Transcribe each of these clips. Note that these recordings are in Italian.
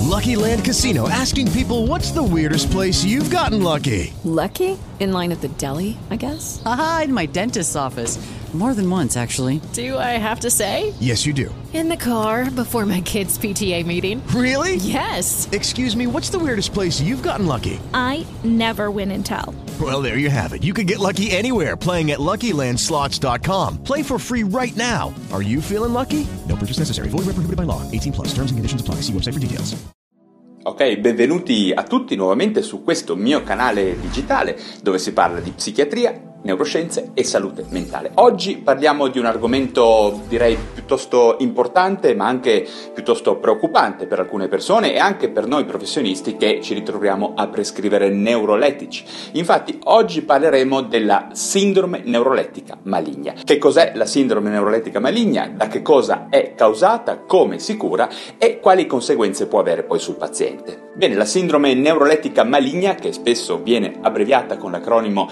Lucky Land Casino, asking people, what's the weirdest place you've gotten lucky? Lucky? In line at the deli, I guess? Aha, in my dentist's office. More than once, actually. Do I have to say? Yes, you do. In the car before my kids' PTA meeting. Really? Yes. Excuse me, what's the weirdest place you've gotten lucky? I never win and tell. Well, there you have it. You can get lucky anywhere, playing at LuckyLandSlots.com. Play for free right now. Are you feeling lucky? No purchase necessary. Void where prohibited by law. 18 plus. Terms and conditions apply. See website for details. Ok, benvenuti a tutti nuovamente su questo mio canale digitale dove si parla di psichiatria, neuroscienze e salute mentale. Oggi parliamo di un argomento direi piuttosto importante ma anche piuttosto preoccupante per alcune persone e anche per noi professionisti che ci ritroviamo a prescrivere neurolettici. Infatti oggi parleremo della sindrome neurolettica maligna. Che cos'è la sindrome neurolettica maligna? Da che cosa è causata? Come si cura? E quali conseguenze può avere poi sul paziente? Bene, la sindrome neurolettica maligna, che spesso viene abbreviata con l'acronimo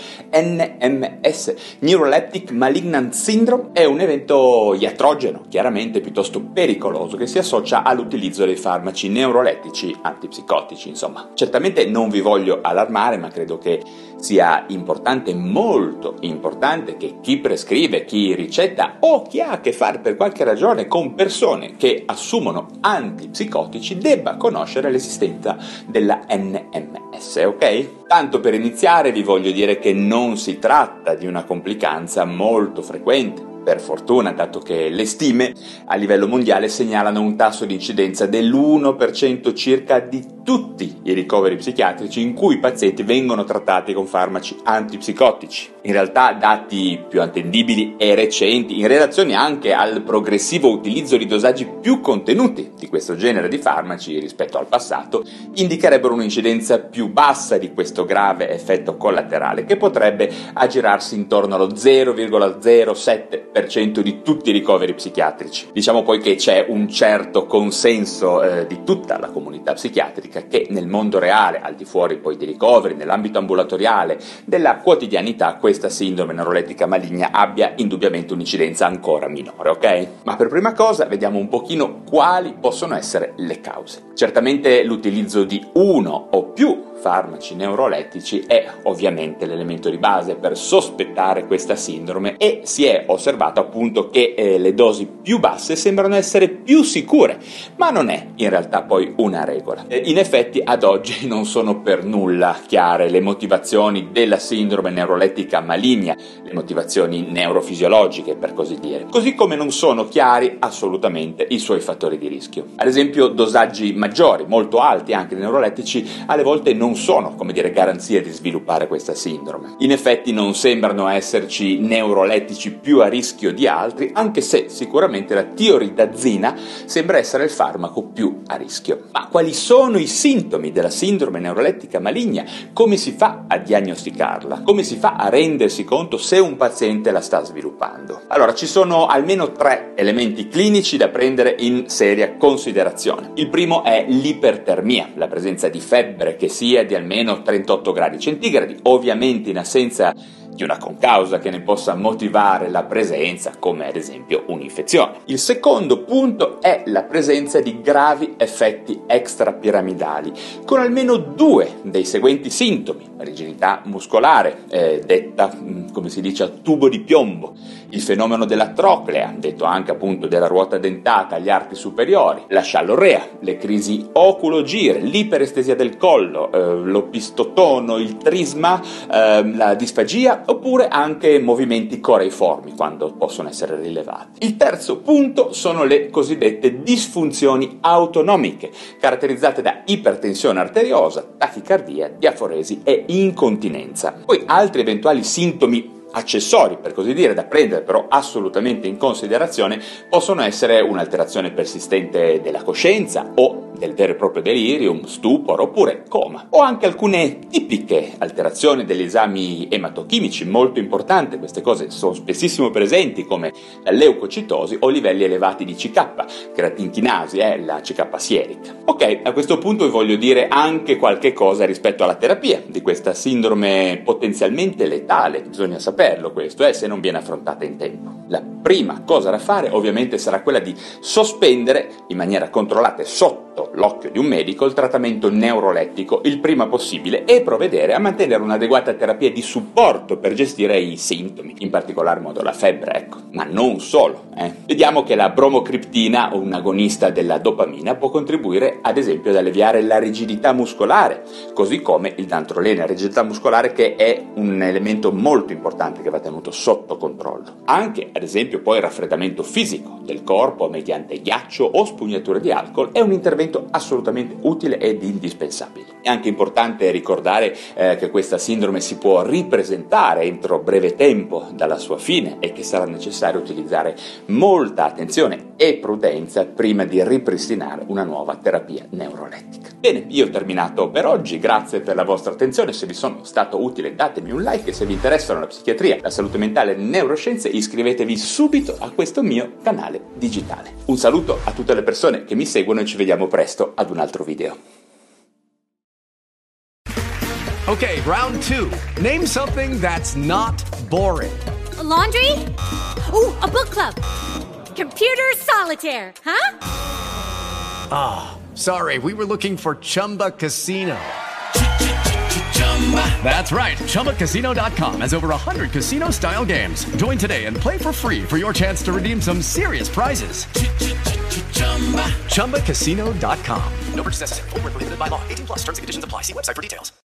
NMS, Neuroleptic Malignant Syndrome, è un evento iatrogeno, chiaramente piuttosto pericoloso, che si associa all'utilizzo dei farmaci neurolettici antipsicotici. Insomma, certamente non vi voglio allarmare, ma credo che sia importante, molto importante, che chi prescrive, chi ricetta o chi ha a che fare per qualche ragione con persone che assumono antipsicotici debba conoscere l'esistenza della NMS, ok? Tanto per iniziare vi voglio dire che non si tratta di una complicanza molto frequente, per fortuna, dato che le stime a livello mondiale segnalano un tasso di incidenza dell'1% circa di tutti i ricoveri psichiatrici in cui i pazienti vengono trattati con farmaci antipsicotici. In realtà dati più attendibili e recenti, in relazione anche al progressivo utilizzo di dosaggi più contenuti di questo genere di farmaci rispetto al passato, indicherebbero un'incidenza più bassa di questo grave effetto collaterale, che potrebbe aggirarsi intorno allo 0,07% di tutti i ricoveri psichiatrici. Diciamo poi che c'è un certo consenso di tutta la comunità psichiatrica che nel mondo reale, al di fuori poi dei ricoveri, nell'ambito ambulatoriale, della quotidianità, questa sindrome neurolettica maligna abbia indubbiamente un'incidenza ancora minore, ok? Ma per prima cosa vediamo un pochino quali possono essere le cause. Certamente l'utilizzo di uno o più farmaci neurolettici è ovviamente l'elemento di base per sospettare questa sindrome e si è osservato appunto che le dosi più basse sembrano essere più sicure, ma non è in realtà poi una regola. In effetti ad oggi non sono per nulla chiare le motivazioni della sindrome neurolettica maligna, le motivazioni neurofisiologiche per così dire, così come non sono chiari assolutamente i suoi fattori di rischio. Ad esempio dosaggi maggiori, molto alti anche di neurolettici, alle volte non sono, come dire, garanzia di sviluppare questa sindrome. In effetti non sembrano esserci neurolettici più a rischio di altri, anche se sicuramente la tioridazina sembra essere il farmaco più a rischio. Ma quali sono i sintomi della sindrome neurolettica maligna? Come si fa a diagnosticarla? Come si fa a rendersi conto se un paziente la sta sviluppando? Allora, ci sono almeno 3 elementi clinici da prendere in seria considerazione. Il primo è l'ipertermia, la presenza di febbre che sia di almeno 38 gradi centigradi, ovviamente in assenza di una concausa che ne possa motivare la presenza, come ad esempio un'infezione. Il secondo punto è la presenza di gravi effetti extrapiramidali, con almeno 2 dei seguenti sintomi: rigidità muscolare, detta come si dice a tubo di piombo, il fenomeno della troclea, detto anche appunto della ruota dentata agli arti superiori, la sciallorrea, le crisi oculogire, l'iperestesia del collo, l'opistotono, il trisma, la disfagia, oppure anche movimenti coreiformi quando possono essere rilevati. Il terzo punto sono le cosiddette disfunzioni autonomiche, caratterizzate da ipertensione arteriosa, tachicardia, diaforesi e incontinenza. Poi altri eventuali sintomi accessori, per così dire, da prendere però assolutamente in considerazione possono essere un'alterazione persistente della coscienza o del vero e proprio delirium, stupor oppure coma, o anche alcune tipiche alterazioni degli esami ematochimici, molto importante. Queste cose sono spessissimo presenti, come la leucocitosi o livelli elevati di CK, creatinchinasi, la CK sierica. Ok, a questo punto vi voglio dire anche qualche cosa rispetto alla terapia di questa sindrome potenzialmente letale. Bisogna sapere saperlo questo, se non viene affrontata in tempo. La prima cosa da fare ovviamente sarà quella di sospendere in maniera controllata e sotto l'occhio di un medico il trattamento neurolettico il prima possibile e provvedere a mantenere un'adeguata terapia di supporto per gestire i sintomi, in particolar modo la febbre, ecco. Ma non solo, Vediamo che la bromocriptina, un agonista della dopamina, può contribuire ad esempio ad alleviare la rigidità muscolare, così come il dantrolene, la rigidità muscolare che è un elemento molto importante che va tenuto sotto controllo. Anche ad esempio poi il raffreddamento fisico del corpo mediante ghiaccio o spugnature di alcol è un intervento assolutamente utile ed indispensabile. È anche importante ricordare che questa sindrome si può ripresentare entro breve tempo dalla sua fine e che sarà necessario utilizzare molta attenzione e prudenza prima di ripristinare una nuova terapia neurolettica. Bene, io ho terminato per oggi, grazie per la vostra attenzione, se vi sono stato utile datemi un like e se vi interessano la psichiatria, la salute mentale e le neuroscienze iscrivetevi subito a questo mio canale digitale. Un saluto a tutte le persone che mi seguono e ci vediamo presto ad un altro video. Okay, round 2. Name something that's not boring. A laundry? Ooh, a book club. Computer solitaire, huh? Sorry, we were looking for Chumba Casino. That's right, ChumbaCasino.com has over 100 casino-style games. Join today and play for free for your chance to redeem some serious prizes. ChumbaCasino.com. No purchase necessary. Void where prohibited by law. 18+ terms and conditions apply. See website for details.